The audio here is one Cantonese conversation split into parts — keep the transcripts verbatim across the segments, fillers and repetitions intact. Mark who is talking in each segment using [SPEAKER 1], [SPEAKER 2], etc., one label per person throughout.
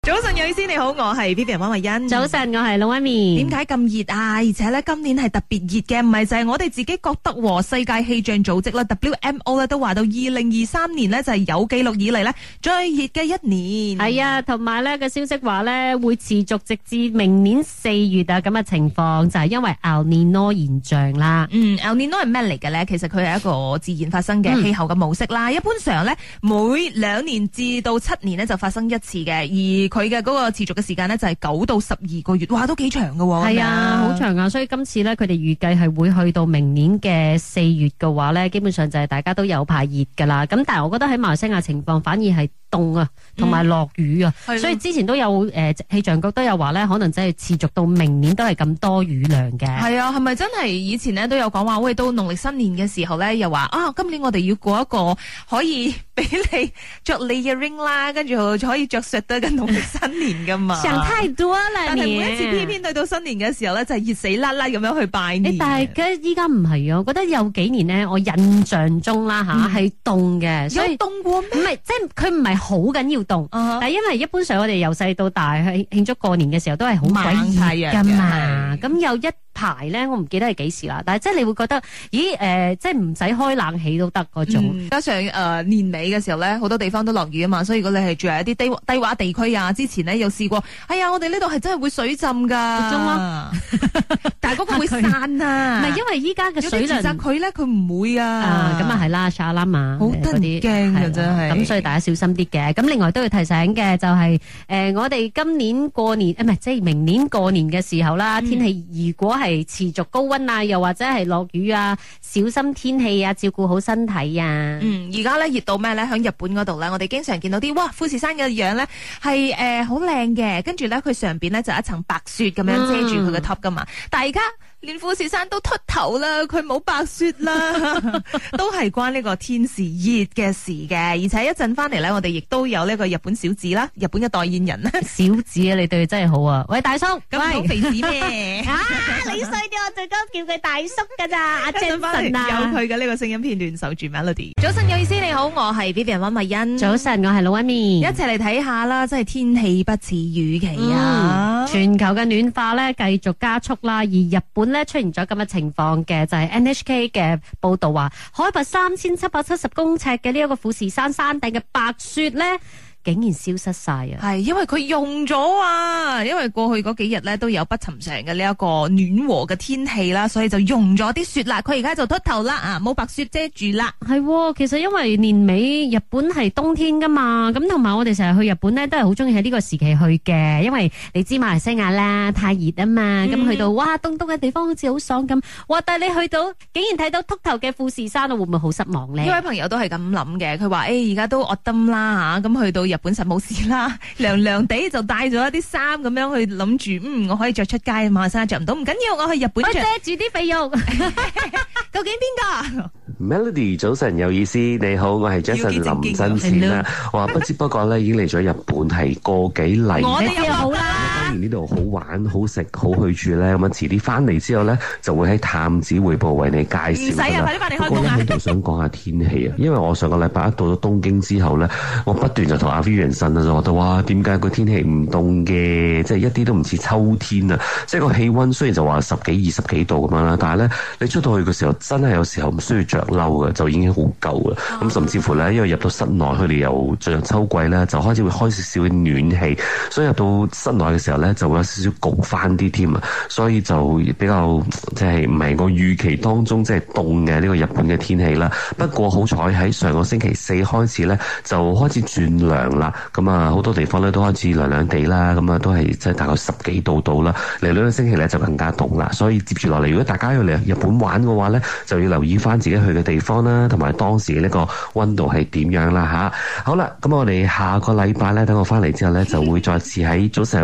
[SPEAKER 1] 早晨，有意思你好，我係 Vivian 溫慧欣。
[SPEAKER 2] 早晨，我係老媽咪。
[SPEAKER 1] 點解咁熱啊？而且咧，今年係特別熱嘅，唔係就係我哋自己覺得喎。世界氣象組織啦 W M O 咧都話到，二零二三年呢就係有記錄以嚟呢最熱嘅一年。
[SPEAKER 2] 係啊，同埋咧個消息話咧會持續直至明年四月啊咁嘅情況，就係、是、因為 El Nino 現象啦。
[SPEAKER 1] 嗯 El Nino 係咩嚟嘅咧？其實佢係一個自然發生嘅氣候嘅模式啦。嗯、一般上咧每兩年至到七年呢就發生一次嘅，而佢嘅嗰個持續嘅時間呢，就係九到十二個月，哇，都幾長㗎喎。
[SPEAKER 2] 係啊，好長啊！所以今次呢，佢哋預計係會去到明年嘅四月嘅話呢，基本上就係大家都有排熱㗎啦。咁但係我覺得喺馬來西亞情況反而係凍啊，同埋落雨啊，嗯、所以之前都有誒氣象局都有話呢，可能真係持續到明年都係咁多雨量嘅。
[SPEAKER 1] 係啊，係咪真係以前呢都有講話，喂，到農曆新年嘅時候呢，又話啊，今年我哋要過一個可以俾你着 layering 啦，跟住可以着 shirt 嘅農曆新年噶嘛？
[SPEAKER 2] 想太多啦，
[SPEAKER 1] 但係每一次偏偏對到新年嘅時候咧，就係熱死啦啦咁樣去拜年。
[SPEAKER 2] 但係依家唔係啊，我覺得有幾年呢，我印象中啦吓係凍嘅，所以
[SPEAKER 1] 有凍過咩？
[SPEAKER 2] 唔係，即係佢唔係好緊要凍，uh huh. 但係因為一般上我哋由細到大去慶祝過年嘅時候都係好鬼熱噶嘛，咁有一排咧，我唔記得係幾時啦，但係即係你會覺得，咦誒、呃，即係唔使開冷氣都得嗰種。
[SPEAKER 1] 嗯、加上誒、呃、年尾嘅時候咧，好多地方都落雨啊嘛，所以如果你係住喺一啲低低洼地區啊，之前咧有試過，哎呀，我哋呢度係真係會水浸噶，但係嗰個會散啊，
[SPEAKER 2] 唔係因為依家嘅水量，
[SPEAKER 1] 佢咧佢唔會啊，
[SPEAKER 2] 咁啊係啦，沙啦嘛，
[SPEAKER 1] 好得人驚嘅真係，
[SPEAKER 2] 咁所以大家小心啲嘅。咁另外都要提醒嘅就係、是，誒、呃、我哋今年過年，誒唔係即係明年過年嘅時候啦，嗯、天氣如果係持續高溫啊，又或者係落雨啊，小心天氣啊，照顧好身體啊。
[SPEAKER 1] 嗯，而家咧熱到咩咧？喺日本嗰度咧，我哋經常見到啲哇富士山嘅樣咧係誒好靚嘅，跟住咧佢上邊咧就一層白雪咁樣遮住佢嘅 top 噶嘛。嗯、但係而家連富士山都禿頭啦，佢冇白雪啦，都係關呢個天時熱嘅事嘅。而且一陣翻嚟咧，我哋亦都有呢個日本小子啦，日本嘅代言人啦。
[SPEAKER 2] 小子啊，你對佢真係好啊！喂，大叔，
[SPEAKER 1] 咁好肥子咩？
[SPEAKER 2] 啊，你衰啲，我最多叫佢大叔噶咋？阿 Jason 啊，
[SPEAKER 1] 有佢嘅呢個聲音片段，守住 Melody。早晨有意思，你好，我係 Vivian 溫慧欣。
[SPEAKER 2] 早晨，我係老 Amy。
[SPEAKER 1] 一齊嚟睇下啦，真係天氣不似預期啊！
[SPEAKER 2] 嗯、全球嘅暖化咧繼續加速啦，而日本咧出現咗咁嘅情況嘅，就係、是、N H K 嘅報道話，海拔三千七百七十公尺嘅呢一個富士山山頂嘅白雪咧，竟然消失晒啊！
[SPEAKER 1] 係因為佢用咗啊，因為過去嗰幾日咧都有不尋常嘅呢一個暖和嘅天氣啦，所以就用咗啲雪啦。佢而家就禿頭啦啊，冇白雪遮住啦。
[SPEAKER 2] 係，其實因為年尾日本係冬天噶嘛，咁同埋我哋成日去日本咧都係好中意喺呢個時期去嘅，因為你知馬來西亞啦太熱啊嘛，咁、嗯、去到哇凍凍嘅地方好似好爽咁，哇！但係你去到竟然睇到禿頭嘅富士山，會唔會好失望咧？呢位
[SPEAKER 1] 朋友都係咁諗嘅，佢話誒而家都惡冬啦吓，咁去到日本實冇事啦，涼涼地就帶咗一啲衫咁樣去諗住，嗯，我可以着出街，馬來西亞着唔到，唔緊要，我去日本着。
[SPEAKER 2] 遮住啲肥肉。
[SPEAKER 1] 究竟邊個
[SPEAKER 3] ？Melody 早晨有意思，你好，我係 Jason 林真善啦。哇，不知不覺咧已經嚟咗日本係個幾禮。
[SPEAKER 1] 我哋又好啦。
[SPEAKER 3] 當然呢度好玩、好食、好去住咧，咁啊遲啲翻嚟之後咧，就會喺探子回報為你介紹。
[SPEAKER 1] 唔使啊，快啲翻嚟開工啊！
[SPEAKER 3] 喺度想講下天氣啊，因為我上個禮拜一到咗東京之後咧，我不斷就同阿 Vivian 呻啦，就覺得哇，點解個天氣唔凍嘅？即係一啲都唔似秋天啊！即係個氣溫雖然就話十幾、二十幾度咁樣啦，但係咧你出到去嘅時候，真係有時候唔需要着褸嘅，就已經好夠啦。咁、oh. 甚至乎咧，因為入到室內，佢哋又進入秋季咧，就開始會開少少嘅暖氣，所以入到室內嘅時候咧，就會有少少焗翻啲添啊。所以就比較即係唔係我預期當中即係凍嘅呢個日本嘅天氣啦。不過好彩喺上個星期四開始咧，就開始轉涼啦。咁啊，好多地方咧都開始涼涼地啦。咁啊，都係即係大概十幾度到啦。嚟兩個星期咧就更加凍啦。所以接住落嚟，如果大家要嚟日本玩嘅話咧，就要留意翻自己去嘅地方啦，同埋當時嘅呢個溫度係點樣啦吓。好啦，咁我哋下個禮拜咧，等我翻嚟之後咧，就會再次喺早上有意思同你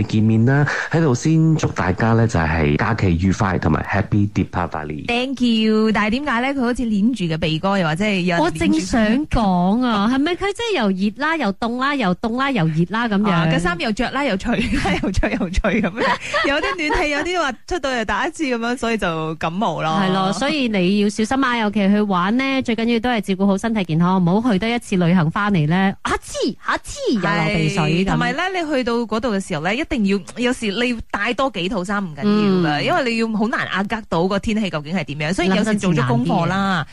[SPEAKER 3] 見面啦，喺度先祝大家咧就係假期愉快同埋 Happy Deepavali。
[SPEAKER 1] Thank you， 但係點解咧？佢好似捏住嘅鼻哥，又或者係有人
[SPEAKER 2] 我正想講啊，係咪佢真係又熱啦，又凍啦，又凍啦，又熱啦咁樣？
[SPEAKER 1] 個衫又着啦，又除啦，又着又除咁樣。有啲暖氣，有啲話出到嚟打一次咁樣，所以就感冒咯。
[SPEAKER 2] 係咯，所以你要小心啊！尤其去玩呢，最緊要都係照顧好身體健康，唔好去得一次旅行翻嚟咧，啊黐啊黐又流鼻水。
[SPEAKER 1] 同埋咧，你去到嗰度嘅時候咧，一定要有時你要帶多幾套衫唔緊要噶，嗯、因為你要好難壓得到個天氣究竟係點樣，所以有時做咗功課啦。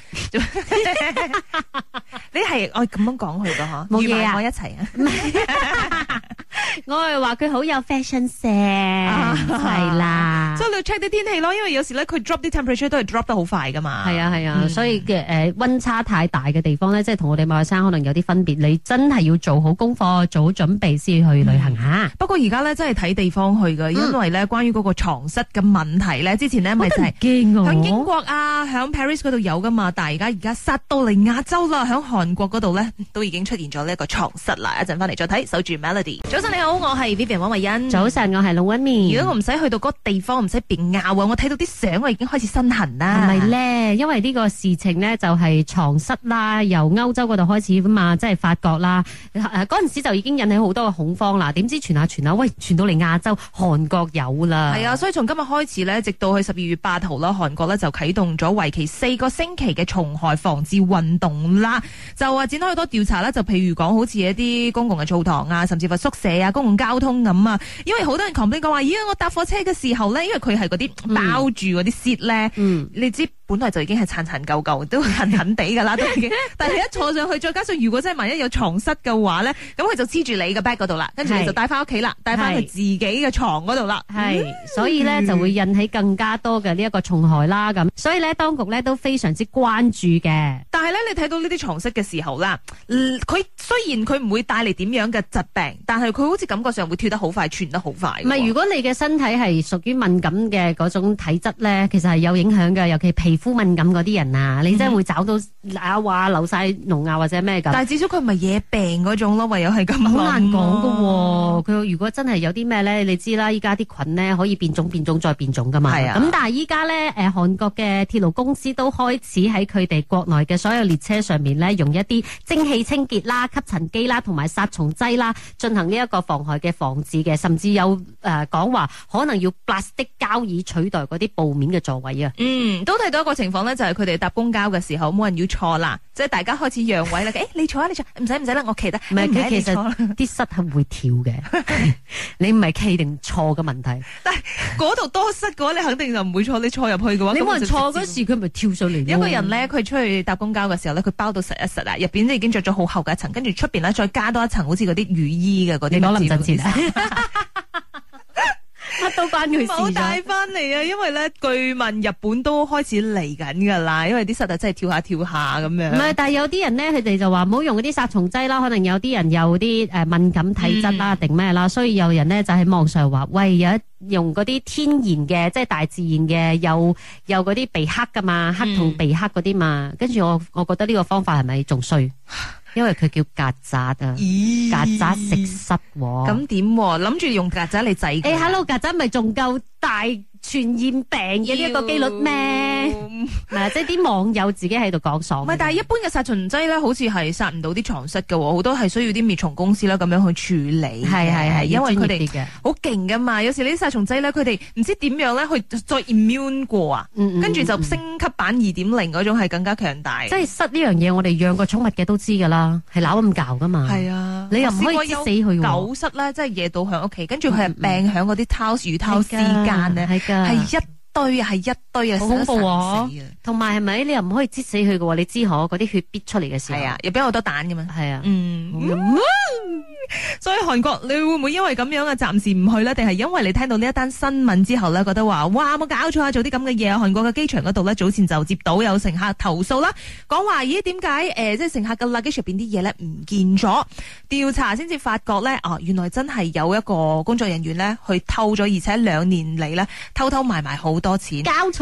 [SPEAKER 1] 你係我咁樣講佢噶嗬，冇嘢啊，我一齊啊。
[SPEAKER 2] 我係話佢好有 fashion sense，係啦，
[SPEAKER 1] 所以你要 check 啲天氣咯，因為有時咧佢 drop 啲 temperature 都係 drop 得好快噶嘛。
[SPEAKER 2] 係啊係啊，嗯、所以嘅誒溫差太大嘅地方咧，即係同我哋馬來西亞可能有啲分別，你真係要做好功課，做好準備先去旅行吓。嗯、
[SPEAKER 1] 不過而家咧真係睇地方去噶，因為咧關於嗰個床蝨嘅問題咧，之前咧咪就係響英國啊，響 Paris 嗰度有噶嘛，但係而家而家殺到嚟亞洲啦，響韓國嗰度咧都已經出現咗呢一個床蝨啦。一陣翻嚟再睇，守住 Melody。早晨你好，我係 Vivian 汪慧欣。
[SPEAKER 2] 早晨，我係龍溫面。
[SPEAKER 1] 如果我唔使去到嗰個地方，唔使被咬啊，我睇到啲相，我已經開始身痕啦。
[SPEAKER 2] 係咪咧？因為呢個事情呢，就係床蝨啦，由歐洲嗰度開始噶嘛，即係法國啦。誒，嗰陣時就已經引起好多嘅恐慌啦。點知傳下傳下，喂，傳到嚟亞洲，韓國有啦。係
[SPEAKER 1] 啊，所以從今日開始呢，直到去十二月八號啦，韓國呢就啟動咗為期四個星期嘅蟲害防治運動啦。就話展開好多調查啦，就譬如講好似一啲公共嘅澡堂啊，甚至乎宿舍啊、公共交通咁啊。因為好多人 complain 講話，咦，我搭火車嘅時候咧，因為佢係嗰啲包住嗰啲 seat 咧，嗯、你知本來就已經係殘殘舊舊，都痕痕地噶啦，都已經。但係你一坐上去，再加上如果真係萬一有床蝨嘅話咧，咁佢就黐住你嘅 bag 嗰度啦，跟住你就帶翻屋企啦，帶翻去自己嘅床嗰度啦。係，所以咧就會引起更加多嘅呢一個蟲害啦。咁，所以咧當局咧都非常之關注嘅。但係咧，你睇到呢啲床蝨嘅時候啦，佢雖然佢唔會帶嚟點樣嘅疾病，但係佢好似感覺上會跳得好快，傳得好快。
[SPEAKER 2] 唔係，如果你嘅身體係屬於敏感嘅嗰種體質咧，其實係有影響嘅，尤其皮膚敏感嗰啲人啊，你真係會找到啊話流晒膿啊或者咩咁。但係至少佢唔係惹病嗰種咯，唯有係咁。好難講噶，佢如果真係有啲咩咧，你知啦，依家啲菌咧可以變種、變種再變種噶嘛。係啊。咁但係依家咧，誒，韓國嘅鐵路公司都開始喺佢哋國內嘅所有列車上面咧，用一啲蒸汽清潔啦、吸塵機啦，同埋殺蟲劑啦，進行呢一個防害嘅防治嘅，甚至有誒講話可能要 plastic 膠椅取代嗰啲布面嘅座位啊。嗯，都睇到一個情況咧，就係佢哋搭公交嘅時候冇人要坐啦，即係大家開始讓位啦。誒、欸，你坐啊，你坐，唔使唔使啦，我企得。唔係，佢其實啲蝨係會跳嘅，你唔係企定坐嘅問題。但係嗰度多蝨嘅話，你肯定就唔會坐。你坐入去嘅話，你冇人坐嗰時，佢咪跳上嚟。一個人咧，佢出去搭公交嘅時候咧，佢包到實一實啊，入邊已經着咗好厚嘅一層，跟住出邊咧再加多一層，好似嗰啲雨衣嘅嗰啲。你講林振前啊？乜都關佢事。冇帶翻嚟啊！因為咧，據聞日本都開始嚟緊噶啦，因為啲蝨啊真係跳下跳下咁樣。唔係，但係有啲人咧，佢哋就話唔好用嗰啲殺蟲劑啦，可能有啲人有啲誒敏感體質啦，定咩啦，所以有人咧就喺網上話，喂，有一用嗰啲天然嘅，即係大自然嘅，有有嗰啲鼻克噶嘛，黑同鼻克嗰啲嘛，跟住我我覺得呢個方法係咪仲衰？因為佢叫曱甴啊，曱甴食蝨，咁點？諗住用曱甴嚟制？誒，hello，曱甴咪仲夠大傳染病嘅呢一個機率咩？嗱，即係啲網友自己喺度講爽。唔係，但係一般嘅殺蟲劑咧，好似係殺唔到啲床蝨嘅，好多係需要啲滅蟲公司啦咁樣去處理。係係係，因為佢哋好勁噶嘛。有時呢啲殺蟲劑咧，佢哋唔知點樣咧，去再 immune 過啊，跟住就升級版二點零嗰種係更加強大。即係蝨呢樣嘢，我哋養過寵物嘅都知噶啦，係扭咁搞噶嘛。係啊，你又唔可以擠死佢。狗蝨咧，即係惹到響屋企，跟住佢係病響嗰啲绦魚绦絲間咧。係一堆啊，係一堆啊，好恐怖啊！同埋係咪你又唔可以擠死佢嘅？你知可嗰啲血逼出嚟嘅時候，係啊，入邊有好多蛋噶嘛，係啊，嗯。嗯所以韓國你會唔會因為咁樣啊，暫時唔去呢？定係因為你聽到呢一單新聞之後呢，覺得話哇冇搞錯啊，做啲咁嘅嘢啊！韓國嘅機場嗰度呢，早前就接到有乘客投訴啦，講話咦點解誒即係乘客嘅 luggage 入邊啲嘢呢唔見咗？調查先至發覺呢，哦原來真係有一個工作人員呢去偷咗，而且兩年嚟呢偷偷埋埋好多錢。交錯啊！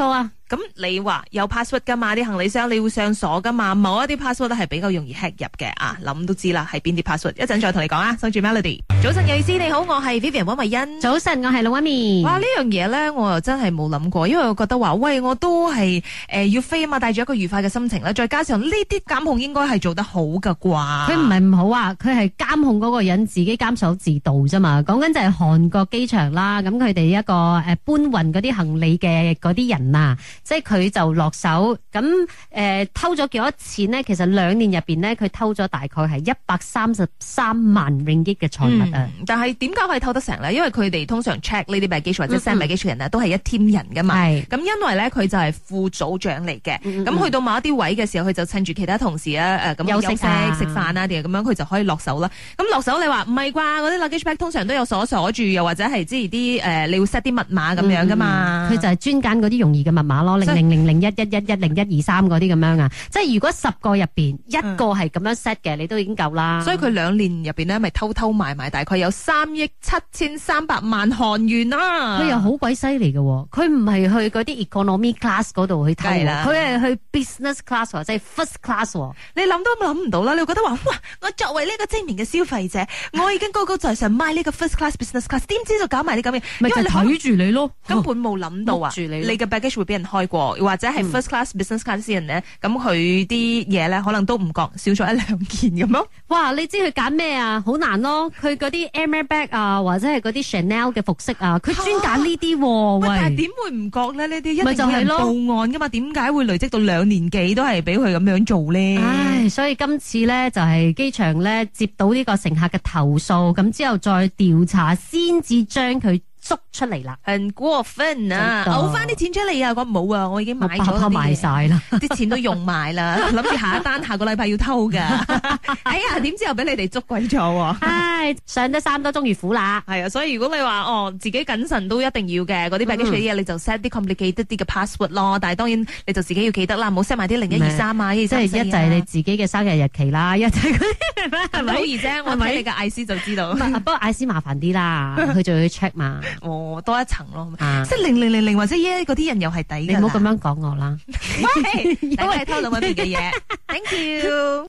[SPEAKER 1] 咁你話有 password 噶嘛？啲行李箱你會上鎖噶嘛？某一啲 password 都係比較容易 hack 入嘅啊，諗都知啦，係邊啲 password？一陣再同你講啊，守住 Melody。早晨，有意思你好，我係 Vivian 溫慧欣。
[SPEAKER 2] 早晨，我係老媽咪。
[SPEAKER 1] 哇，呢樣嘢咧，我又真係冇諗過，因為我覺得話，喂，我都係誒、呃、要飛啊嘛，帶住一個愉快嘅心情啦，再加上呢啲監控應該係做得好噶啩？
[SPEAKER 2] 佢唔係唔好啊，佢係監控嗰個人自己監守自盜啫嘛。講緊就係韓國機場啦，咁佢哋一個誒搬運嗰啲行李嘅嗰啲人啊。即係佢就落手咁誒、呃、偷咗幾多錢呢？其實兩年入邊呢，佢偷咗大概係一百三十三萬 ringgit 嘅財物啊！
[SPEAKER 1] 嗯、但係點解可以偷得成呢？因為佢哋通常 check 呢啲 baggage 或者 send baggage 人呢，都係一 team 人噶嘛。咁、嗯、因為咧佢就係副組長嚟嘅，咁、嗯嗯、去到某一啲位嘅時候，佢就趁住其他同事啊誒咁休息食飯啊啲咁樣，佢就可以落手啦。咁落手你話唔係啩？嗰啲 luggage bag 通常都有鎖鎖住，又或者係即係啲誒你要 set 啲密碼咁樣噶嘛？佢、嗯、就係專揀嗰啲容易嘅密碼咯。零零零零一一一一零一二三嗰啲咁樣啊，即係如果十個入邊一個係咁樣 set 嘅，你都已經夠啦。所以佢兩年入邊咧，咪偷偷埋埋，大概有三億七千三百萬韓元啦。佢又好鬼犀利嘅，佢唔係去嗰啲 economy class 嗰度去偷，佢係去 business class 或者係 first class。你諗都諗唔到啦，你會覺得話哇，我作為呢個精明嘅消費者，我已經高高在上買呢個 first class business class， 點知就搞埋啲咁嘅，
[SPEAKER 2] 咪就睇住你咯，
[SPEAKER 1] 根本冇諗到啊，你嘅 baggage 會俾人開過。或者係 first class、嗯、business class 啲人咧，咁佢啲嘢咧可能都唔覺少咗一兩件咁咯。哇！你知佢揀咩啊？好難咯。佢嗰啲 Hermes bag 啊，或者係嗰啲 Chanel 嘅服飾啊，佢專揀呢啲。喂，但係點會唔覺咧？呢啲一定有人報案噶嘛？點解會累積到兩年幾都係俾佢咁樣做咧？唉，所以今次咧就係機場咧接到呢個乘客嘅投訴，咁之後再調查先至將佢捉出嚟啦，很過分啊！嘔翻啲錢出嚟啊！我冇啊，我已經買咗啲嘢，買晒啦，啲錢都用埋啦，諗住下一單下個禮拜要偷噶。哎呀，點知又俾你哋捉鬼咗？唉，上得山多終遇虎啦。係啊，所以如果你話哦自己謹慎都一定要嘅，嗰啲 baggage 嘅嘢你就 set 啲 complicated 啲嘅 password 咯。但係當然你就自己要記得啦，唔好 set 埋啲零一二三啊，即係一就係你自己嘅生日日期啦，一就係嗰啲係咪好易啫？我睇你嘅 I C 就知道。不過 I C 麻煩啲啦，佢就要 check 嘛。哦，多一層咯，啊、即係零零零零或者耶嗰啲人又係抵嘅。你唔好咁樣講我啦，喂，因為偷兩位嘅嘢，thank you。